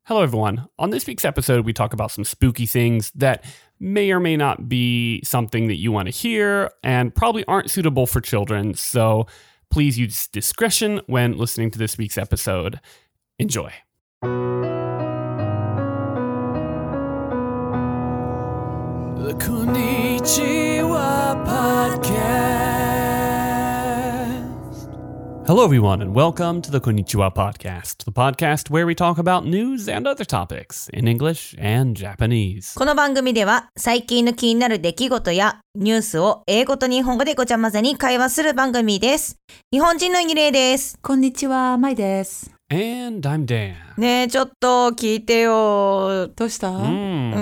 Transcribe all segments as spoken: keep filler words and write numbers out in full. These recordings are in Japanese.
Hello, everyone. On this week's episode, we talk about some spooky things that may or may not be something that you want to hear and probably aren't suitable for children. So please use discretion when listening to this week's episode. Enjoy. The Konnichiwa Podcast. Hello, everyone, and welcome to the Konnichiwa Podcast, the podcast where we talk about news and other topics in English and Japanese. この番組では最近の気になる出来事やニュースを英語と日本語でごちゃ混ぜに会話する番組です。日本人のイギレイです。 こんにちは、マイです。 And I'm Dan. ねえ、ちょっと聞いてよ。 どうした？ うん、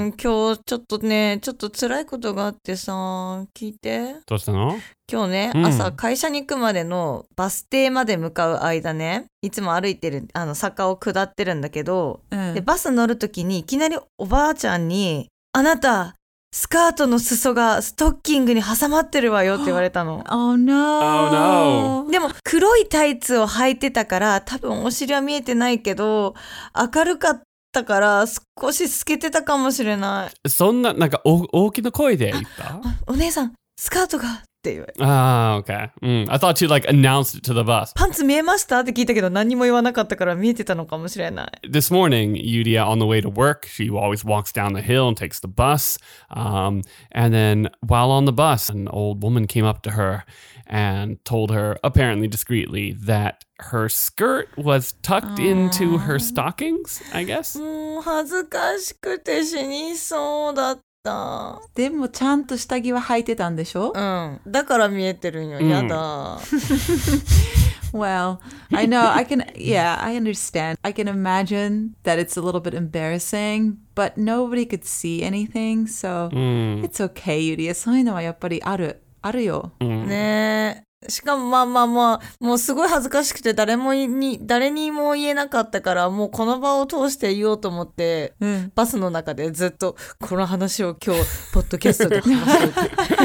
今日ちょっとね、ちょっと辛いことがあってさ、聞いて。 どうしたの？ 今日ね、 うん、 朝会社に行くまでのバス停まで向かう間ね、いつも歩いてるあの坂を下ってるんだけど、うん、でバス乗るときにいきなりおばあちゃんに、あなたスカートの裾がストッキングに挟まってるわよって言われたの。 Oh no. Oh no. でも黒いタイツを履いてたから多分お尻は見えてないけど明るかったから少し透けてたかもしれない。 そんななんかお大きな声で言った？ お姉さんスカートがって言われた。 ああ、okay. Mm. I thought you like announced it to the bus. パンツ見えましたって聞いたけど何も言わなかったから見えてたのかもしれない。 This morning, Yuria, on the way to work, she always walks down the hill and takes the bus. Um, and then while on the bus, an old woman came up to her and told her, apparently discreetly, that her skirt was tucked into her stockings, I guess. もう恥ずかしくて死にそうだった。 でもちゃんと下着は履いてたんでしょ？ うん。だから見えてるんよ。やだ。 Well, I know, I can, yeah, I understand. I can imagine that it's a little bit embarrassing, but nobody could see anything, so it's okay, ユリア。そういうのはやっぱりある、あるよ。 ねえ。しかもまあまあまあもうすごい恥ずかしくて誰もに誰にも言えなかったからもうこの場を通して言おうと思って、うん、バスの中でずっとこの話を今日ポッドキャストで話そう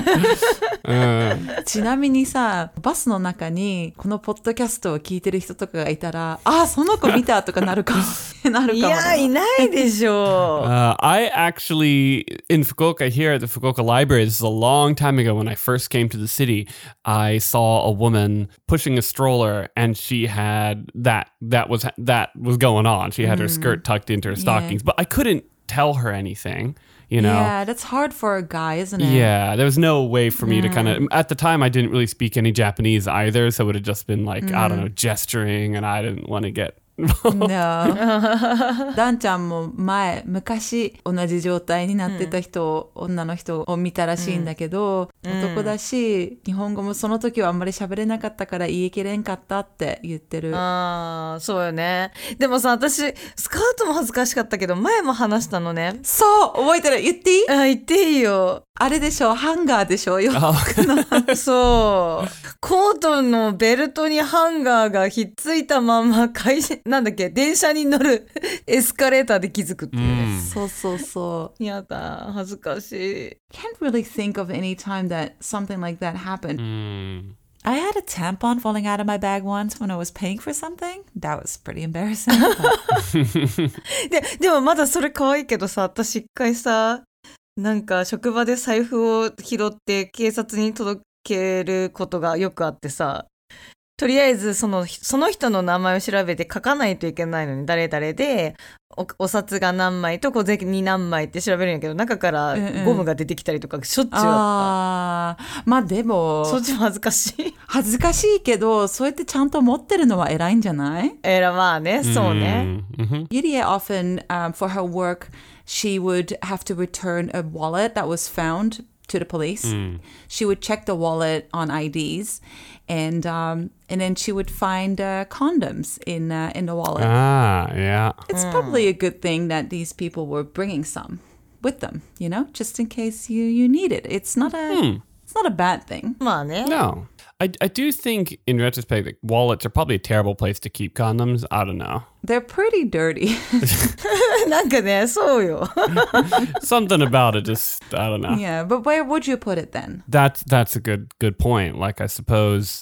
ってちなみにさバスの中にこのポッドキャストを聞いてる人とかがいたらあその子見たとかなるかもなるかもいやいないでしょう、 uh, I actually in Fukuoka here at the Fukuoka Library, this is a long time ago when I first came to the city, I saw a woman pushing a stroller and she had that that was that was going on. She had mm. her skirt tucked into her stockings, yeah. but I couldn't tell her anything, you know. Yeah, that's hard for a guy, isn't it? Yeah, there was no way for me mm. to kind of at the time I didn't really speak any Japanese either, so it would have just been like, mm. I don't know, gesturing and I didn't want to get No. ダンちゃんも前昔同じ状態になってた人、うん、女の人を見たらしいんだけど、うん、男だし日本語もその時はあんまり喋れなかったから言い切れんかったって言ってる。 ああそうよね。でもさ私スカートも恥ずかしかったけど前も話したのね。 そう覚えてる。言っていい？ あ言っていいよ。 あれでしょハンガーでしょよそうコートのベルトにハンガーがひっついたまま会社なんだっけ電車に乗るエスカレーターで気づくっていうね、 うん、そうそうそうやだ恥ずかしい Can't really think of any time that something like that happened、 mm. I had a tampon falling out of my bag once when I was paying for something. That was pretty embarrassing で, でもまだそれ可愛いけどさ私一回さなんか職場で財布を拾って警察に届けることがよくあってさとりあえずその、その人の名前を調べて書かないといけないのに誰々で お, お札が何枚と小銭何枚って調べるんやけど中からゴムが出てきたりとかしょっちゅうあった、うんうん、あまあでもそっちも恥ずかしい恥ずかしいけどそうやってちゃんと持ってるのは偉いんじゃないえらまあねそうね、 mm-hmm. Yuria often、um, for her work she would have to return a wallet that was found to the police. Mm. She would check the wallet on I Ds, and um, and then she would find uh, condoms in uh, in the wallet. Ah, yeah. It's mm. probably a good thing that these people were bringing some with them, you know, just in case you, you need it. It's not a mm. it's not a bad thing. まあね。 No. I, I do think, in retrospect, that wallets are probably a terrible place to keep condoms. I don't know. They're pretty dirty. なんかね、そうよ。 Something about it just, I don't know. Yeah, but where would you put it then? That's, that's a good good point. Like, I suppose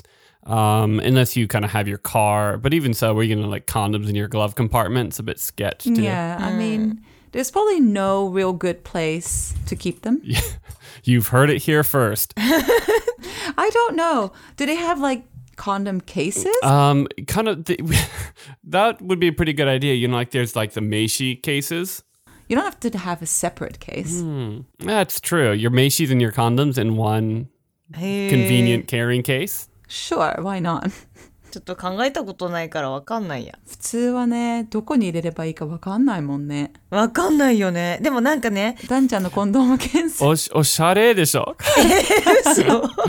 Um, unless you kind of have your car. But even so, we're going to like condoms in your glove compartment. It's a bit sketch too. Yeah, I mean, there's probably no real good place to keep them. Yeah. You've heard it here first. I don't know. Do they have like condom cases? Um, kind of, th- that would be a pretty good idea. You know, like there's like the Meishi cases. You don't have to have a separate case. Hmm. That's true. Your Meishis and your condoms in one convenient carrying case. Sure, why not? ちょっと考えたことないからわかんないや。 普通はね、どこに入れればいいかわかんないもんね。 わかんないよね。でもなんかね。 ダンちゃんのコンドーム検査。 おし、おしゃれでしょ嘘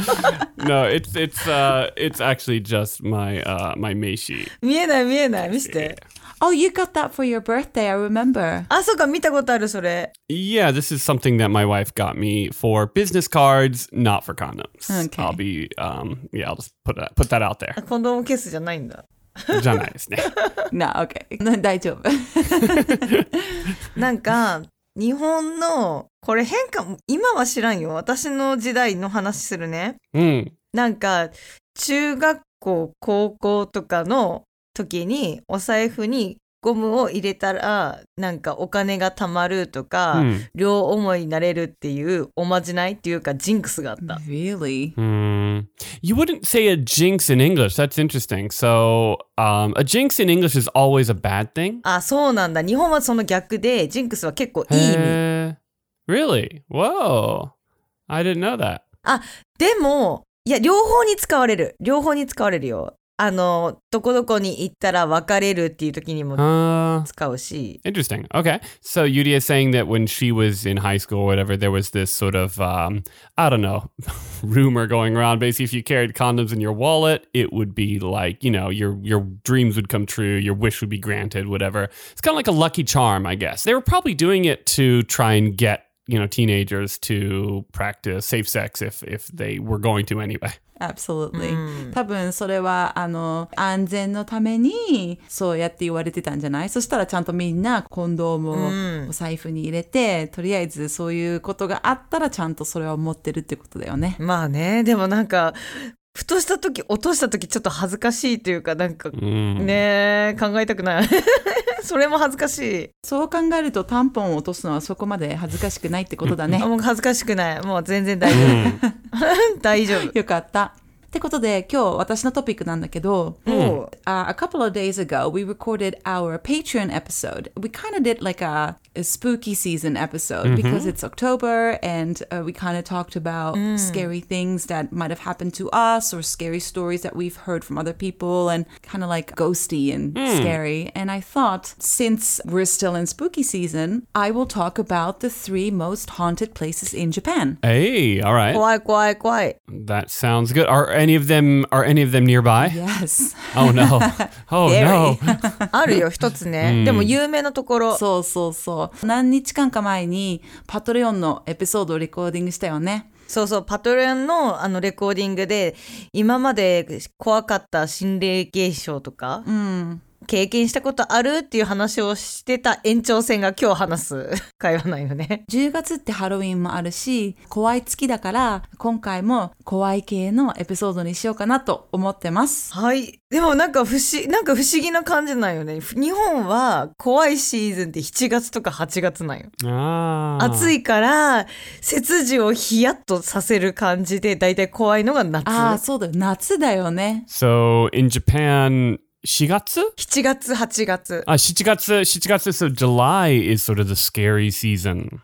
No, it's, it's, uh, it's actually just my, uh, my Meishi. 見えない見えない。見せて。 Oh, you got that for your birthday, I remember. あ、そうか、見たことある、それ。 Yeah, this is something that my wife got me for business cards, not for condoms. Okay. I'll be, um, yeah, I'll just put that, put that out there. コンドームケースじゃないんだ。 じゃないですね。 な、OK。大丈夫。 なんか、日本の、これ変かも、今は知らんよ。私の時代の話するね。 うん。 なんか、中学校、高校とかの時にお財布にゴムを入れたらなんかお金が貯まるとか、うん、両思いになれるっていうおまじないっていうかジンクスがあった。 Really? Mm. You wouldn't say a jinx in English. That's interesting. So, um, a jinx in English is always a bad thing? あ、そうなんだ。日本はその逆でジンクスは結構いい意味。 Really? Whoa. I didn't know that. あ、でも、いや、両方に使われる。両方に使われるよ。あの、どこどこに行ったら別れるっていう時にも使うし。 Uh, interesting. Okay. So Yuri is saying that when she was in high school or whatever, there was this sort of, um, I don't know, rumor going around. Basically, if you carried condoms in your wallet, it would be like, you know, your, your dreams would come true, your wish would be granted, whatever. It's kind of like a lucky charm, I guess. They were probably doing it to try and get, you know, teenagers to practice safe sex if, if they were going to anyway. Absolutely. 多分それはあの安全のためにそうやって言われてたんじゃない？そしたらちゃんとみんなコンドームをお財布に入れて、とりあえずそういうことがあったらちゃんとそれを持ってるってことだよね。 まあね、でもなんかふとした時落とした時ちょっと恥ずかしいというかなんか、うん、ね考えたくないそれも恥ずかしい。 そう考えるとタンポンを落とすのはそこまで恥ずかしくないってことだね。 もう恥ずかしくない。もう全然大丈夫大丈夫。 よかった。ってことで今日私のトピックなんだけど、 mm. uh, a couple of days ago we recorded our Patreon episode. We kind of did like a, a spooky season episode mm-hmm. because it's October and uh, we kind of talked about mm. scary things that might have happened to us or scary stories that we've heard from other people and kind of like ghosty and mm. scary. And I thought since we're still in spooky season, I will talk about the three most haunted places in Japan. Hey, all right. 怖い怖い怖い。 That sounds good. Are any of them are any of them nearby? Yes. Oh no. Oh no. あるよ一つね、うん、でも有名なところ。 そうそうそう。何日間か前にパトレオンのエピソードをレコーディングしたよね。 そうそう、パトレオンのあのレコーディングで今まで怖かった心霊現象とか、うん、経験したことあるっていう話をしてた延長線が今日話す会話ないよね。 じゅうがつってハロウィンもあるし怖い月だから今回も怖い系のエピソードにしようかなと思ってます。 はい。でもなんか不思なんか不思議な感じなんよね。日本は怖いシーズンってしちがつとかはちがつなんよ。あ暑いから背筋をヒヤッとさせる感じでだいたい怖いのが夏。 ああそうだよ夏だよね。 So in Japanしがつしちがつはちがつあしちがつしちがつ So July is sort of the scary season.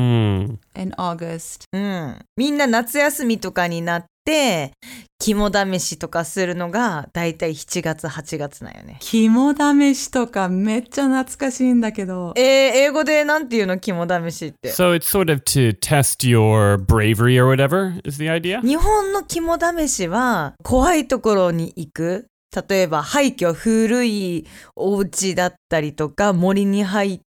Mm. In August. うん。みんな夏休みとかになって肝試しとかするのがだいたいしちがつはちがつなんよね。 肝試しとかめっちゃ懐かしいんだけど。 えー、英語でなんていうの肝試しって。 So it's sort of to test your bravery or whatever is the idea? 日本の肝試しは怖いところに行く。例えば廃墟、古いお家だったりとか森に入って、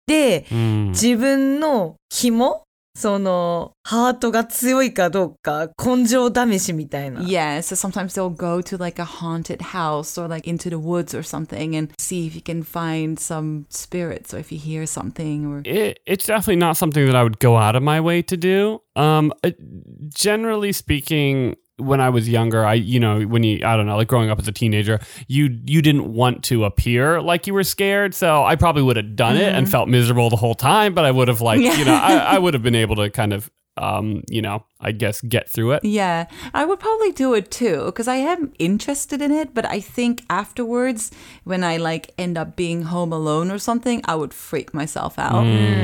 うん、自分の肝そのハートが強いかどうか根性試しみたいな。 Yeah, so sometimes they'll go to like a haunted house or like into the woods or something and see if you can find some spirits or if you hear something. Or it, it's definitely not something that I would go out of my way to do. Um, generally speaking, when I was younger, I, you know, when you, I don't know, like growing up as a teenager, you, you didn't want to appear like you were scared. So I probably would have done it and felt miserable the whole time, but I would have like, you know, I, I would have been able to kind of, um, you know, I guess get through it. Yeah, I would probably do it too because I am interested in it. But I think afterwards, when I like end up being home alone or something, I would freak myself out.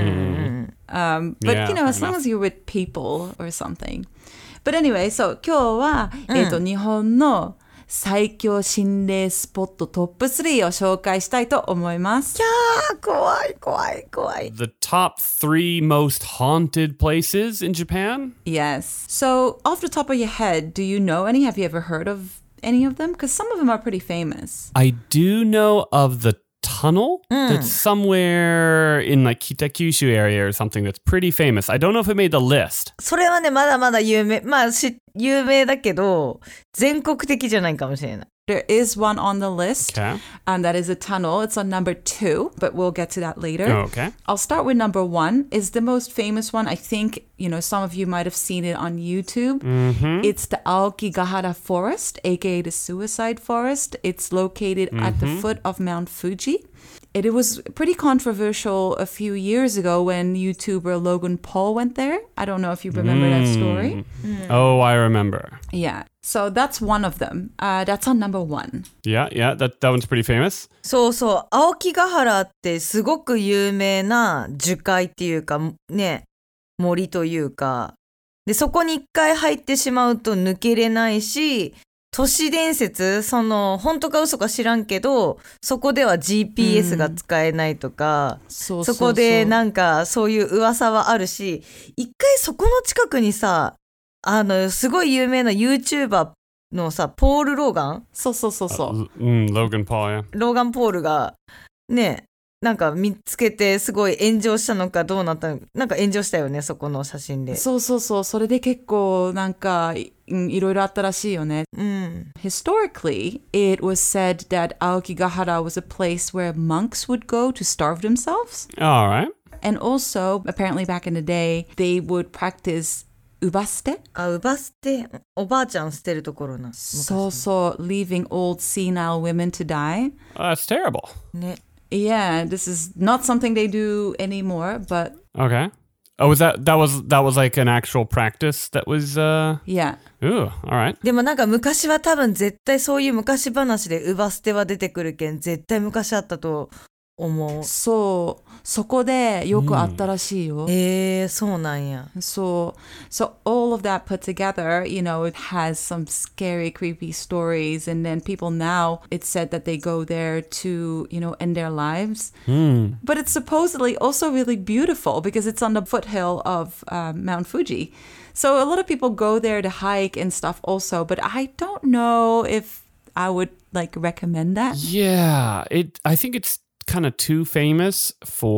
Mm. Um, but Yeah, you know, as fair long enough. as you're with people or something. But anyway, so 今日は、えっと、日本の最強心霊スポットトップスリーを紹介したいと思います。 あー怖い怖い怖い。 The top three most haunted places in Japan? Yes. So, off the top of your head, do you know any? Have you ever heard of any of them? Because some of them are pretty famous. I do know of the tunnel that's somewhere in like Kitakyushu area or something that's pretty famous. I don't know if it made the list. それはね、まだまだ有名。まあ、し有名だけど、全国的じゃないかもしれない。 There is one on the list, Okay. and that is a tunnel. It's on number two, but we'll get to that later. Okay. I'll start with number one. Is the most famous one. I think, you know, some of you might have seen it on YouTube. Mm-hmm. It's the Aokigahara Forest, aka the Suicide Forest. It's located at the foot of Mount Fuji. It, it was pretty controversial a few years ago when YouTuber Logan Paul went there. I don't know if you remember that story. Oh, I remember. Yeah. So that's one of them. Uh, that's on number one. Yeah, yeah, that, that one's pretty famous. そうそう、青木ヶ原ってすごく有名な樹海っていうかね、森というか、でそこに一回入ってしまうと抜けれないし、都市伝説、その本当か嘘か知らんけど、そこでは ジーピーエス が使えないとか、 そうそこでなんかそういう噂はあるし、一回そこの近くにさ、あのすごい有名な YouTuber のさ、ポール・ローガンそうそうそうそう。 L- mm, Logan Paul, yeah. ローガン・ポールがね、なんか見つけてすごい炎上したのかどうなったのか、なんか炎上したよね、そこの写真で。 そうそうそう。それで結構なんかいいろいろあったらしいよね。 うん。 Historically, it was said that Aokigahara was a place where monks would go to starve themselves. All right. And also, apparently back in the day, they would practice ubaste. あ、うば捨て、おばあちゃん捨てるところな。 そうそう、leaving old senile women to die. Uh, that's terrible. ね。 Yeah, this is not something they do anymore, but Okay. Oh, was that that was that was like an actual practice that was uh yeah. ooh, all right. でもなんか昔は多分絶対そういう昔話でうば捨ては出てくるけん、絶対昔あったと思う。 そう、そこでよくあったらしいよ。 えー、そうなんや。 So, so all of that put together, you know, it has some scary, creepy stories. And then people now, it's said that they go there to, you know, end their lives. Hmm. But it's supposedly also really beautiful because it's on the foothill of uh, Mount Fuji. So a lot of people go there to hike and stuff also. But I don't know if I would like recommend that. Yeah, it I think it's kind of too famous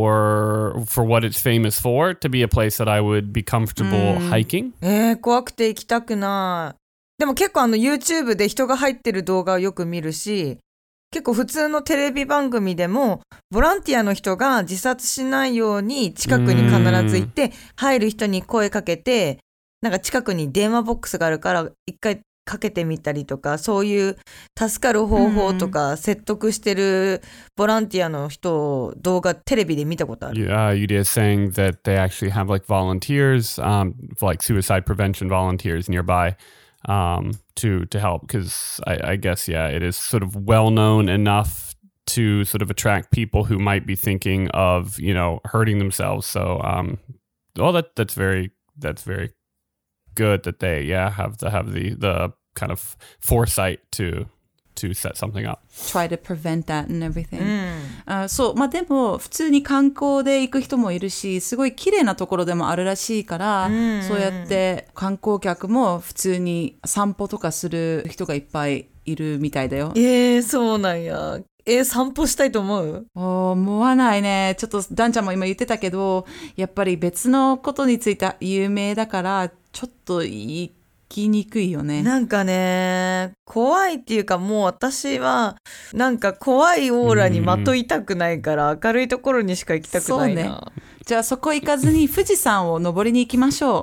for for what it's famous for to be a place that I would be comfortable hiking. えー、怖くて行きたくない。でも結構あの YouTube で人が入ってる動画をよく見るし、結構普通のテレビ番組でもボランティアの人が自殺しないように近くに必ず行って入る人に声かけて、なんか近くに電話ボックスがあるから一回かけてみたりとか、そういう助かる方法とか説得してるボランティアの人を動画テレビで見たことある。 Yeah, Yudia is saying that they actually have like volunteers, um, like suicide prevention volunteers nearby, um, to to help because I, I guess yeah, it is sort of well known enough to sort of attract people who might be thinking of you know hurting themselves. So, um, oh, that that's very that's very good that they yeah have to have the the kind of foresight to to set something up. Try to prevent that and everything. あ、そう、まあでも普通に観光で行く人もいるし、すごい綺麗なところでもあるらしいから、そうやって観光客も普通に散歩とかする人がいっぱいいるみたいだよ。 えー、そうなんや。えー、散歩したいと思う？ 思わないね。ちょっとダンちゃんも今言ってたけど、やっぱり別のことについて有名だからちょっと行きにくいよね。 なんかね、怖いっていうかもう私はなんか怖いオーラにまといたくないから明るいところにしか行きたくないな。 そうね。じゃあそこ行かずに富士山を登りに行きましょう。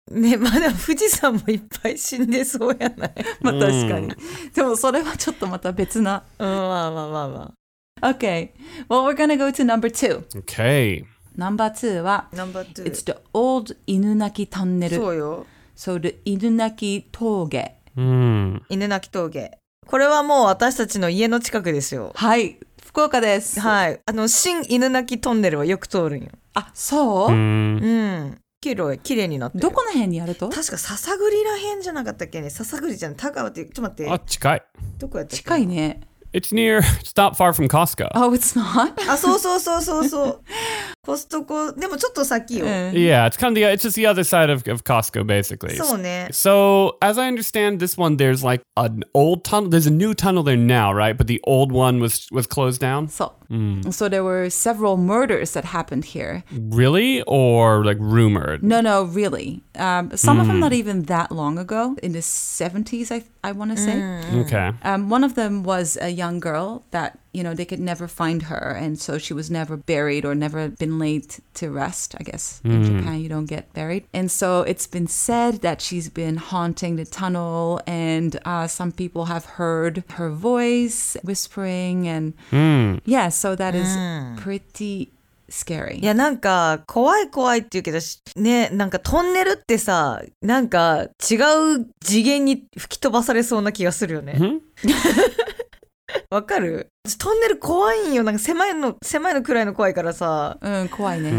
ね、まだ富士山もいっぱい死んでそうやない。 まあ確かに。でもそれはちょっとまた別な。 うん、まあまあまあまあ。Okay. Well, we're gonna go to number two. Okay. Number two は、 Number two. It's the old 犬鳴トンネル。 そうよ。 So the 犬鳴峠。 うん。 犬鳴峠。これはもう私たちの家の近くですよ。 はい。福岡です。 はい。あの、新犬鳴トンネルはよく通るんよ。 あ、そう？ うん。うんきれい、きれいになってる。 どこの辺にあると？ 確か笹栗ら辺じゃなかったっけね。笹栗じゃん。田川って、ちょっと待って。 あ、近い。 どこやったっけ？ 近いね。 It's near, it's not far from Costco. Oh, it's not? あ、そうそうそうそうそう。コストコ、でもちょっと先よ。 Yeah, it's kind of the, it's just the other side of, of Costco, basically. そうね。 So, as I understand this one, there's like an old tunnel. There's a new tunnel there now, right? But the old one was was closed down? そう。Mm. So there were several murders that happened here. Really? Or like rumored? No, no, really. Um, some mm. of them not even that long ago, in the seventies, I I want to say. Mm. Okay. Um, one of them was a young girl that, you know, they could never find her. And so she was never buried or never been laid to rest, I guess. In mm. Japan, you don't get buried. And so it's been said that she's been haunting the tunnel. And uh, some people have heard her voice whispering. And mm. yeah, so that is mm. pretty scary. いやなんか怖い怖いって言うけどね、なんかトンネルってさ、なんか違う次元に吹き飛ばされそうな気がするよね。わかる？トンネル怖いんよ。なんか狭いの狭いのくらいの怖いからさ。 うん、怖いね。うん。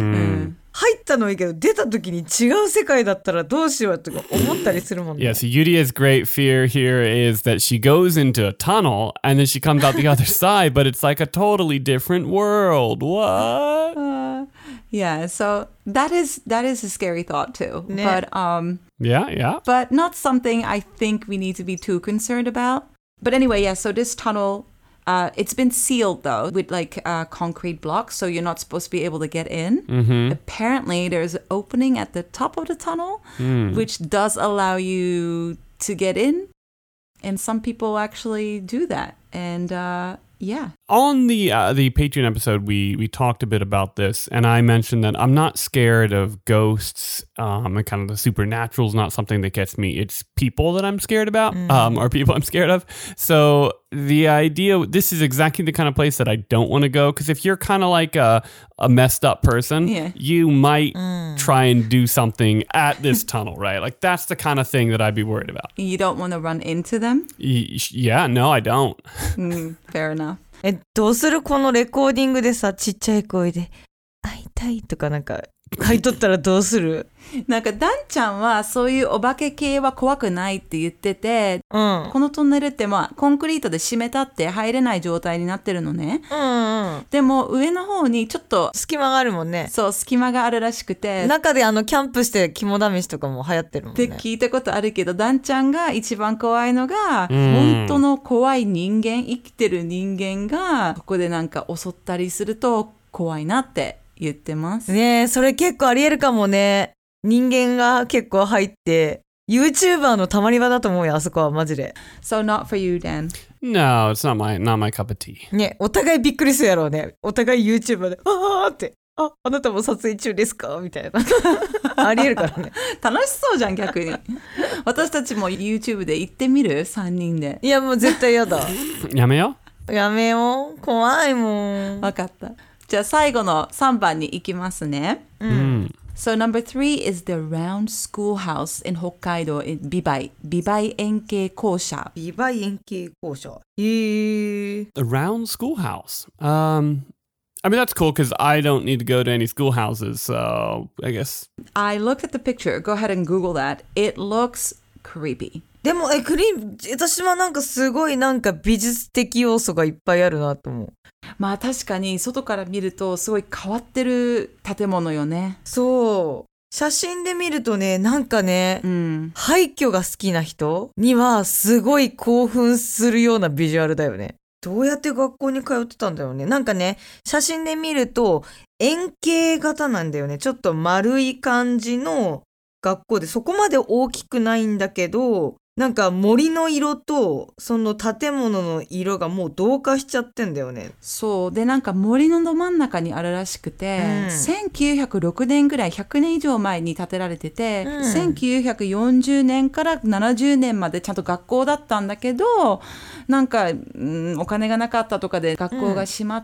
入ったのはいいけど出た時に違う世界だったらどうしようとか思ったりするもんね。 Yeah, so Yudia's great fear here is that she goes into a tunnel and then she comes out the other side, but it's like a totally different world. What? Uh, yeah, so that is that is a scary thought too. Ne. But um Yeah, yeah. But not something I think we need to be too concerned about. But anyway, yeah, so this tunnel Uh, it's been sealed though with like uh, concrete blocks, so you're not supposed to be able to get in. Mm-hmm. Apparently, there's an opening at the top of the tunnel, mm. which does allow you to get in, and some people actually do that. And uh, yeah. On the uh, the Patreon episode, we we talked a bit about this, and I mentioned that I'm not scared of ghosts um, and kind of the supernatural is not something that gets me. It's people that I'm scared about, mm. um, or people I'm scared of. So the idea, this is exactly the kind of place that I don't want to go, because if you're kind of like a, a messed up person, yeah. you might mm. try and do something at this tunnel, right? Like that's the kind of thing that I'd be worried about. You don't want to run into them? Y- yeah, no, I don't. mm, fair enough. え、どうする？このレコーディングでさ、ちっちゃい声で会いたいとかなんか書いとったらどうする？ なんかダンちゃんはそういうお化け系は怖くないって言ってて、 うん、 このトンネルってまあコンクリートで締めたって入れない状態になってるのね、 うんうん、 でも上の方にちょっと隙間があるもんね。 そう、隙間があるらしくて、 中であのキャンプして肝試しとかも流行ってるもんねって聞いたことあるけど、ダンちゃんが一番怖いのが、うん、本当の怖い人間、生きてる人間がここでなんか襲ったりすると怖いなって言ってますね。え、それ結構ありえるかもね。人間が結構入って YouTuber のたまり場だと思うよ、あそこはマジで。 So not for you, Dan? No, it's not my, not my cup of tea. ね、お互いびっくりするやろうね。お互い YouTuber であーってあ、あなたも撮影中ですかみたいなありえるからね。 楽しそうじゃん、逆に。私たちも YouTube で行ってみる？さんにんで。 いやもう絶対やだ。 やめようやめよう、怖いもん。 分かった。じゃあ最後のさんばんに行きますね。 うん。 So number three is the round schoolhouse in Hokkaido in Bibai. Bibai 円形校舎。 ビバイ円形校舎。へー。 The round schoolhouse. Um, I mean, that's cool because I don't need to go to any schoolhouses, so I guess. I looked at the picture. Go ahead and Google that. It looks creepy. でもえクリーム、私はなんかすごいなんか美術的要素がいっぱいあるなと思う。 まあ確かに外から見るとすごい変わってる建物よね。 そう。写真で見るとね、なんかね、 うん、 廃墟が好きな人にはすごい興奮するようなビジュアルだよね。どうやって学校に通ってたんだろうね。なんかね、写真で見ると円形型なんだよね。ちょっと丸い感じの学校で、そこまで大きくないんだけど、 なんか森の色とその建物の色がもう同化しちゃってんだよね。 そうでなんか森のど真ん中にあるらしくて、うん、せんきゅうひゃくろくねんぐらいひゃくねん以上前に建てられてて、うん、せんきゅうひゃくよんじゅうねんからななじゅうねんまでちゃんと学校だったんだけどなんか、うん、お金がなかったとかで学校が閉まって、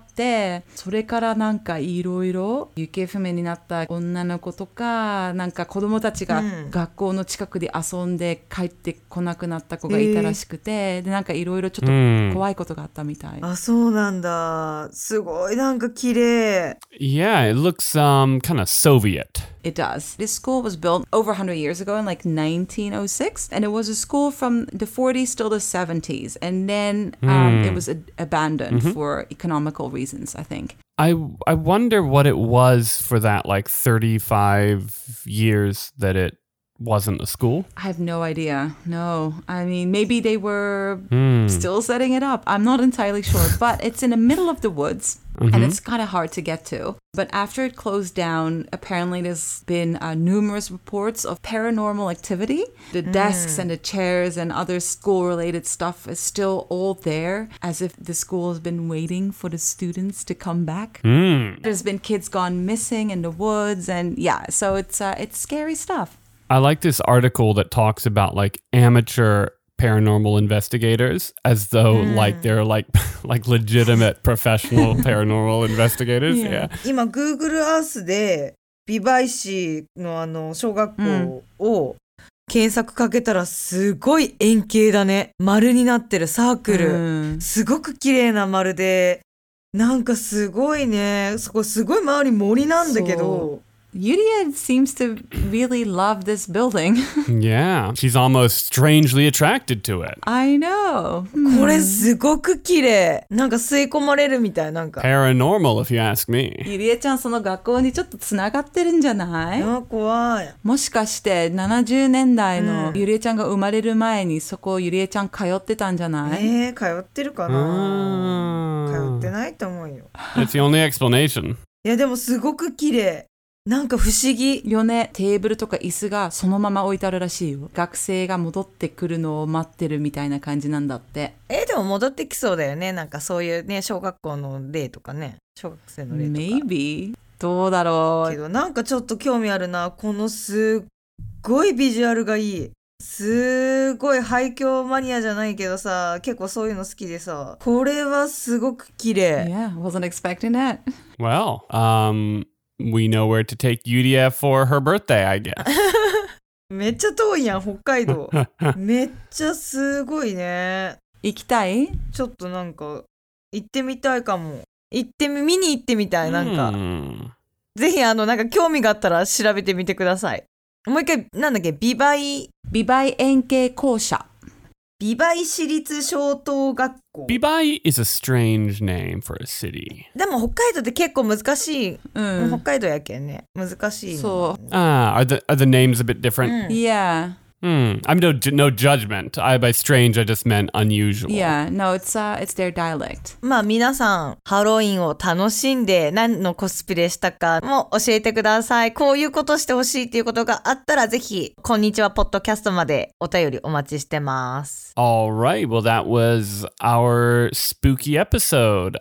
うん、それからなんかいろいろ行方不明になった女の子とかなんか子供たちが学校の近くで遊んで帰ってこなくなった子がいたらしくて、えー、でなんかいろいろちょっと怖いことがあったみたい、 うん、あそうなんだすごいなんか綺麗 Yeah, it looks um kind of Soviet. It does. This school was built over one hundred years ago in like nineteen oh six and it was a school from the forties till the seventies and then um, mm. it was a- abandoned mm-hmm. for economical reasons, I think. I I wonder what it was for that like thirty-five years that it wasn't a school. I have no idea. No. I mean, maybe they were mm. still setting it up. I'm not entirely sure. But it's in the middle of the woods, mm-hmm. and it's kind of hard to get to. But after it closed down, apparently there's been uh, numerous reports of paranormal activity. The mm. desks and the chairs and other school-related stuff is still all there, as if the school has been waiting for the students to come back. Mm. There's been kids gone missing in the woods, and yeah, so it's uh, it's scary stuff. I like this article that talks about like amateur paranormal investigators as though mm. like they're like like legitimate professional paranormal investigators. Yeah. 今 Google Earth で美唄市のあの小学校を検索かけたらすごい円形だね。丸になってるサークル。Mm. すごく綺麗な丸でなんかすごいね。そこすごい周り森なんだけど。 Yuria seems to really love this building. Yeah, she's almost strangely attracted to it. I know. これすごく綺麗。なんか吸い込まれるみたいなんか。 Paranormal, if you ask me. ゆりえちゃんその学校にちょっとつながってるんじゃない？ あ、怖い。 もしかしてななじゅうねんだいのゆりえちゃんが生まれる前にそこゆりえちゃん通ってたんじゃない？ えー、通ってるかな？通ってないと思うよ。 That's the only explanation. いやでもすごく綺麗。なんか不思議よね。テーブルとか椅子がそのまま置いてあるらしいよ。学生が戻ってくるのを待ってるみたいな感じなんだって。 えー、でも戻ってきそうだよね。なんかそういうね小学校の例とかね小学生の例とか Maybe どうだろうけどなんかちょっと興味あるな。このすっごいビジュアルがいい。すごい廃墟マニアじゃないけどさ結構そういうの好きでさこれはすごく綺麗。 Yeah, wasn't expecting that. Well, um we know where to take Yuria for her birthday, I guess. めっちゃ遠いやん、北海道。めっちゃすごいね。 行きたい？ ちょっとなんか行ってみたいかも。行ってみ見に行ってみたいなんか。ぜひあのなんか興味があったら調べてみてください。もう一回なんだっけ美唄美唄円形校舎。 美唄市立小等学校。 美唄 is a strange name for a city. でも北海道って結構難しい。うん、北海道やけんね。難しい。 そう。 Ah, are the are the names a bit different? うん、yeah. Hmm. I'm no no judgment. I by strange I just meant unusual. Yeah. No, it's uh it's their dialect. まあ皆さんハロウィンを楽しんで何のコスプレしたかも教えてください。こういうことしてほしいっていうことがあったらぜひこんにちはポッドキャストまでお便りお待ちしてます。 All right. Well, that was our spooky episode.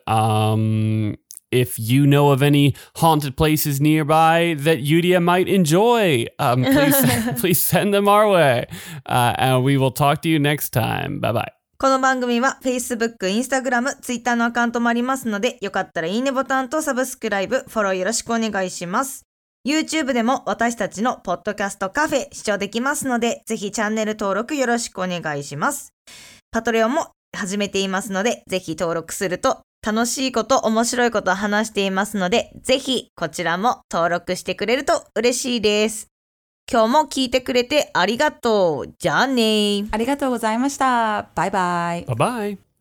Um. If you know of any haunted places nearby that Yuria might enjoy, um, please, please send them our way. Uh, and we will talk to you next time. Bye bye. この番組は Facebook、Instagram、Twitter のアカウントもありますので、よかったらいいねボタンとサブスクライブ、フォローよろしくお願いします。YouTube でも私たちのポッドキャストカフェ視聴できますので、ぜひチャンネル登録よろしくお願いします。パトレオンも始めていますので、ぜひ登録すると楽しいこと、面白いことを話していますので、ぜひこちらも登録してくれると嬉しいです。今日も聞いてくれてありがとう。じゃあね。 ありがとうございました。バイバイ。 バイバイ。